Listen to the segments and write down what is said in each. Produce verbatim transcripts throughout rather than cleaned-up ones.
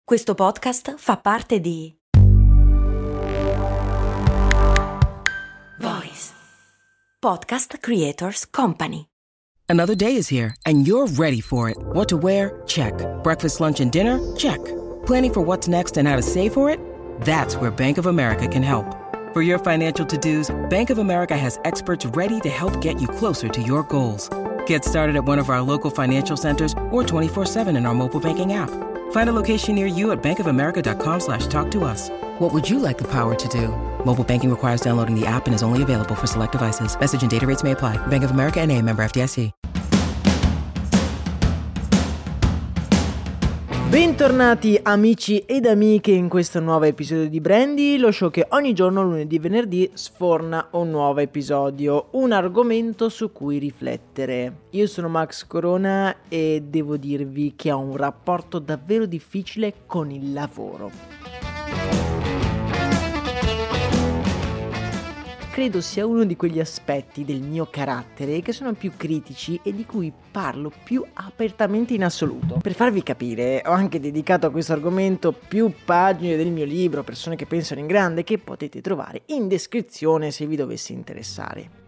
Questo podcast fa parte di Voice Podcast Creators Company. Another day is here, and you're ready for it. What to wear? Check. Breakfast, lunch, and dinner? Check. Planning for what's next and how to save for it? That's where Bank of America can help. For your financial to-dos, Bank of America has experts ready to help get you closer to your goals. Get started at one of our local financial centers or twenty-four seven in our mobile banking app. Find a location near you at bankofamerica.com slash talk to us. What would you like the power to do? Mobile banking requires downloading the app and is only available for select devices. Message and data rates may apply. Bank of America N A, member F D I C. Bentornati amici ed amiche in questo nuovo episodio di Brandy, lo show che ogni giorno, lunedì e venerdì, sforna un nuovo episodio, un argomento su cui riflettere. Io sono Max Corona e devo dirvi che ho un rapporto davvero difficile con il lavoro. Credo sia uno di quegli aspetti del mio carattere che sono più critici e di cui parlo più apertamente in assoluto. Per farvi capire, ho anche dedicato a questo argomento più pagine del mio libro Persone che pensano in grande, che potete trovare in descrizione se vi dovesse interessare.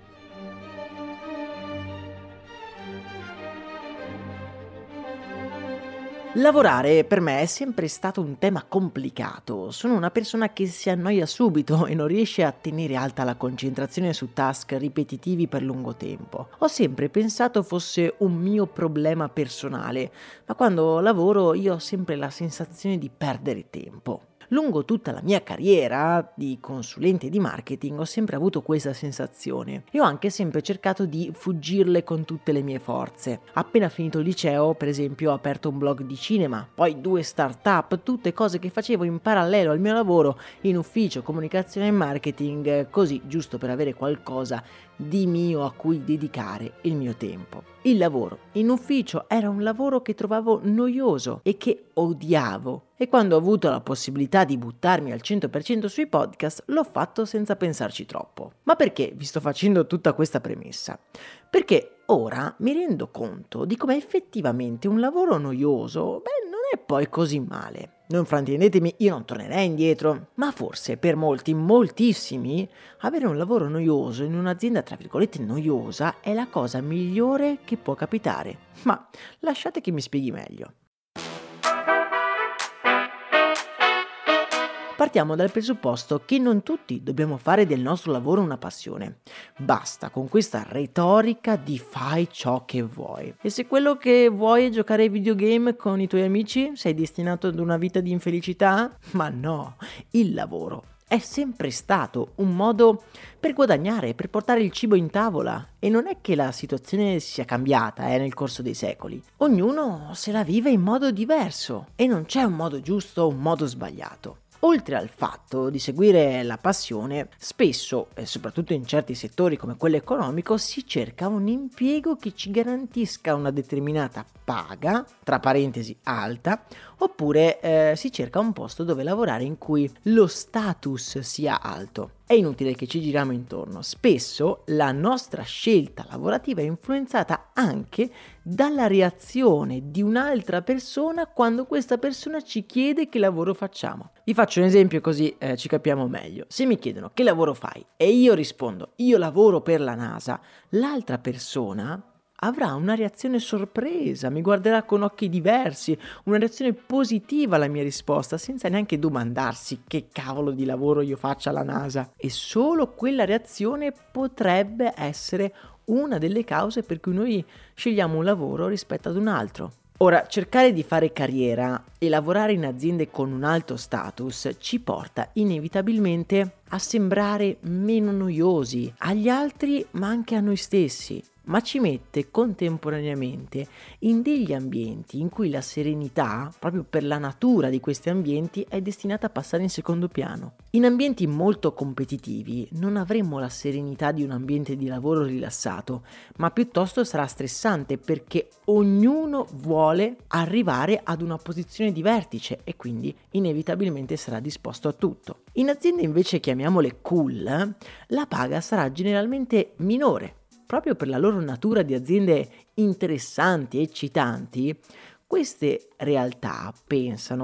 Lavorare per me è sempre stato un tema complicato. Sono una persona che si annoia subito e non riesce a tenere alta la concentrazione su task ripetitivi per lungo tempo. Ho sempre pensato fosse un mio problema personale, ma quando lavoro io ho sempre la sensazione di perdere tempo. Lungo tutta la mia carriera di consulente di marketing ho sempre avuto questa sensazione e ho anche sempre cercato di fuggirle con tutte le mie forze. Appena finito il liceo, per esempio, ho aperto un blog di cinema, poi due start-up, tutte cose che facevo in parallelo al mio lavoro in ufficio, comunicazione e marketing, così giusto per avere qualcosa di mio a cui dedicare il mio tempo. Il lavoro in ufficio era un lavoro che trovavo noioso e che odiavo, e quando ho avuto la possibilità di buttarmi al cento per cento sui podcast l'ho fatto senza pensarci troppo. Ma perché vi sto facendo tutta questa premessa? Perché ora mi rendo conto di come effettivamente un lavoro noioso, beh, non è poi così male. Non fraintendetemi, io non tornerei indietro, ma forse per molti, moltissimi, avere un lavoro noioso in un'azienda tra virgolette noiosa è la cosa migliore che può capitare. Ma lasciate che mi spieghi meglio. Partiamo dal presupposto che non tutti dobbiamo fare del nostro lavoro una passione. Basta con questa retorica di fai ciò che vuoi. E se quello che vuoi è giocare ai videogame con i tuoi amici, sei destinato ad una vita di infelicità? Ma no, il lavoro è sempre stato un modo per guadagnare, per portare il cibo in tavola. E non è che la situazione sia cambiata eh, nel corso dei secoli. Ognuno se la vive in modo diverso e non c'è un modo giusto o un modo sbagliato. Oltre al fatto di seguire la passione, spesso, e soprattutto in certi settori come quello economico, si cerca un impiego che ci garantisca una determinata paga, tra parentesi alta, oppure eh, si cerca un posto dove lavorare in cui lo status sia alto. È inutile che ci giriamo intorno. Spesso la nostra scelta lavorativa è influenzata anche dalla reazione di un'altra persona quando questa persona ci chiede che lavoro facciamo. Vi faccio un esempio così eh, ci capiamo meglio. Se mi chiedono che lavoro fai e io rispondo io lavoro per la NASA, l'altra persona avrà una reazione sorpresa, mi guarderà con occhi diversi, una reazione positiva alla mia risposta, senza neanche domandarsi che cavolo di lavoro io faccia alla NASA. E solo quella reazione potrebbe essere una delle cause per cui noi scegliamo un lavoro rispetto ad un altro. Ora, cercare di fare carriera e lavorare in aziende con un alto status ci porta inevitabilmente a sembrare meno noiosi agli altri, ma anche a noi stessi. Ma ci mette contemporaneamente in degli ambienti in cui la serenità, proprio per la natura di questi ambienti, è destinata a passare in secondo piano. In ambienti molto competitivi non avremo la serenità di un ambiente di lavoro rilassato, ma piuttosto sarà stressante perché ognuno vuole arrivare ad una posizione di vertice e quindi inevitabilmente sarà disposto a tutto. In aziende invece, chiamiamole cool, la paga sarà generalmente minore. Proprio per la loro natura di aziende interessanti e eccitanti, queste realtà pensano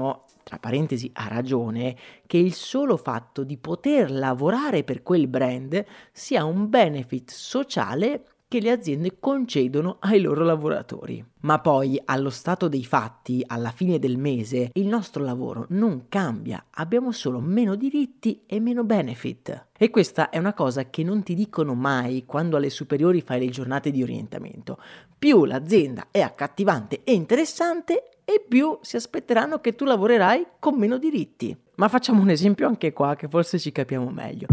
tra parentesi ha ragione, che il solo fatto di poter lavorare per quel brand sia un benefit sociale che le aziende concedono ai loro lavoratori. Ma poi, allo stato dei fatti, alla fine del mese, il nostro lavoro non cambia, abbiamo solo meno diritti e meno benefit. E questa è una cosa che non ti dicono mai quando alle superiori fai le giornate di orientamento. Più l'azienda è accattivante e interessante, e più si aspetteranno che tu lavorerai con meno diritti. Ma facciamo un esempio anche qua, che forse ci capiamo meglio.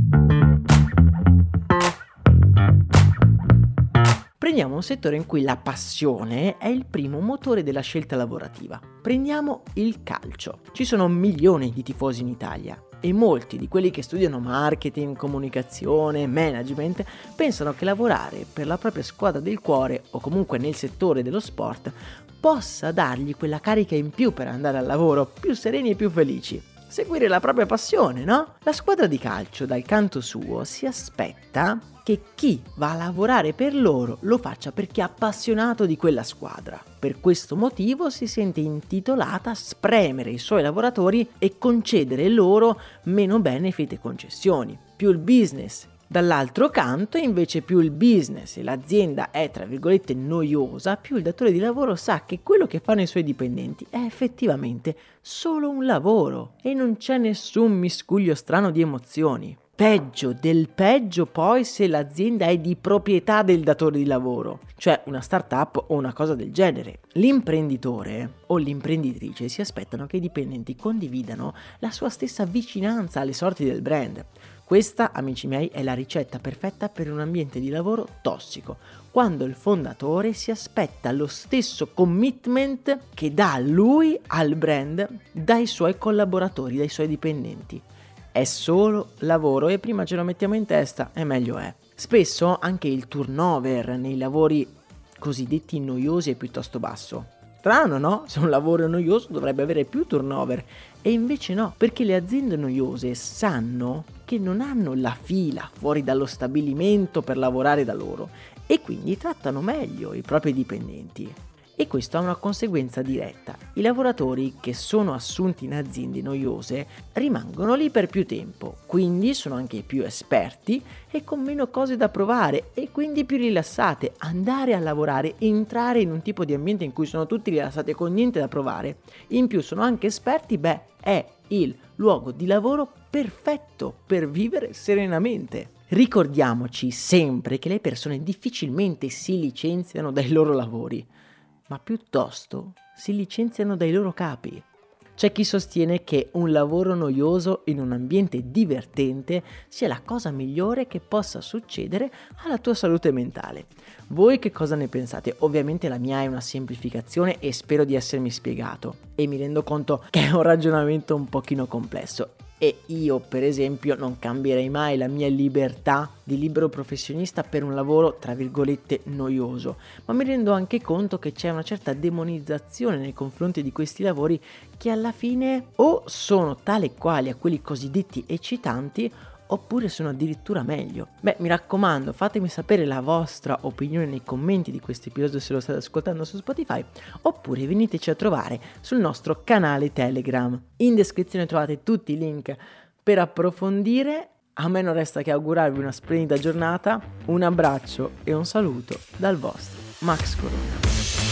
Prendiamo un settore in cui la passione è il primo motore della scelta lavorativa. Prendiamo il calcio. Ci sono milioni di tifosi in Italia e molti di quelli che studiano marketing, comunicazione, management pensano che lavorare per la propria squadra del cuore o comunque nel settore dello sport possa dargli quella carica in più per andare al lavoro più sereni e più felici. Seguire la propria passione, no? La squadra di calcio, dal canto suo, si aspetta che chi va a lavorare per loro lo faccia perché è appassionato di quella squadra. Per questo motivo si sente intitolata a spremere i suoi lavoratori e concedere loro meno benefit e concessioni. Più il business. Dall'altro canto, invece, più il business e l'azienda è, tra virgolette, noiosa, più il datore di lavoro sa che quello che fanno i suoi dipendenti è effettivamente solo un lavoro e non c'è nessun miscuglio strano di emozioni. Peggio del peggio poi se l'azienda è di proprietà del datore di lavoro, cioè una startup o una cosa del genere. L'imprenditore o l'imprenditrice si aspettano che i dipendenti condividano la sua stessa vicinanza alle sorti del brand. Questa, amici miei, è la ricetta perfetta per un ambiente di lavoro tossico, quando il fondatore si aspetta lo stesso commitment che dà lui al brand dai suoi collaboratori, dai suoi dipendenti. È solo lavoro e prima ce lo mettiamo in testa e meglio è. Spesso anche il turnover nei lavori cosiddetti noiosi è piuttosto basso. Strano, no? Se un lavoro è noioso dovrebbe avere più turnover. E invece no, perché le aziende noiose sanno che non hanno la fila fuori dallo stabilimento per lavorare da loro e quindi trattano meglio i propri dipendenti. E questo ha una conseguenza diretta. I lavoratori che sono assunti in aziende noiose rimangono lì per più tempo, quindi sono anche più esperti e con meno cose da provare e quindi più rilassate. Andare a lavorare, entrare in un tipo di ambiente in cui sono tutti rilassati e con niente da provare, in più sono anche esperti, beh, è il luogo di lavoro perfetto per vivere serenamente. Ricordiamoci sempre che le persone difficilmente si licenziano dai loro lavori, ma piuttosto si licenziano dai loro capi. C'è chi sostiene che un lavoro noioso in un ambiente divertente sia la cosa migliore che possa succedere alla tua salute mentale. Voi che cosa ne pensate? Ovviamente la mia è una semplificazione e spero di essermi spiegato e mi rendo conto che è un ragionamento un pochino complesso. E io, per esempio, non cambierei mai la mia libertà di libero professionista per un lavoro, tra virgolette, noioso, ma mi rendo anche conto che c'è una certa demonizzazione nei confronti di questi lavori che alla fine o sono tali e quali a quelli cosiddetti eccitanti oppure sono addirittura meglio. Beh, mi raccomando, fatemi sapere la vostra opinione nei commenti di questo episodio se lo state ascoltando su Spotify, oppure veniteci a trovare sul nostro canale Telegram. In descrizione trovate tutti i link per approfondire. A me non resta che augurarvi una splendida giornata, un abbraccio e un saluto dal vostro Max Corona.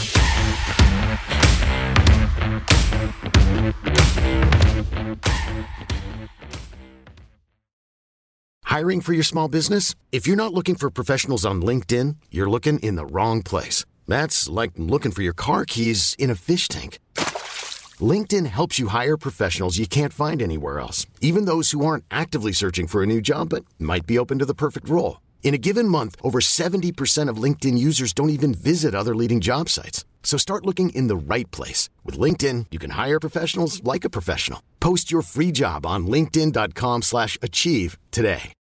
Hiring for your small business? If you're not looking for professionals on LinkedIn, you're looking in the wrong place. That's like looking for your car keys in a fish tank. LinkedIn helps you hire professionals you can't find anywhere else, even those who aren't actively searching for a new job but might be open to the perfect role. In a given month, over seventy percent of LinkedIn users don't even visit other leading job sites. So start looking in the right place. With LinkedIn, you can hire professionals like a professional. Post your free job on linkedin dot com slash achieve today.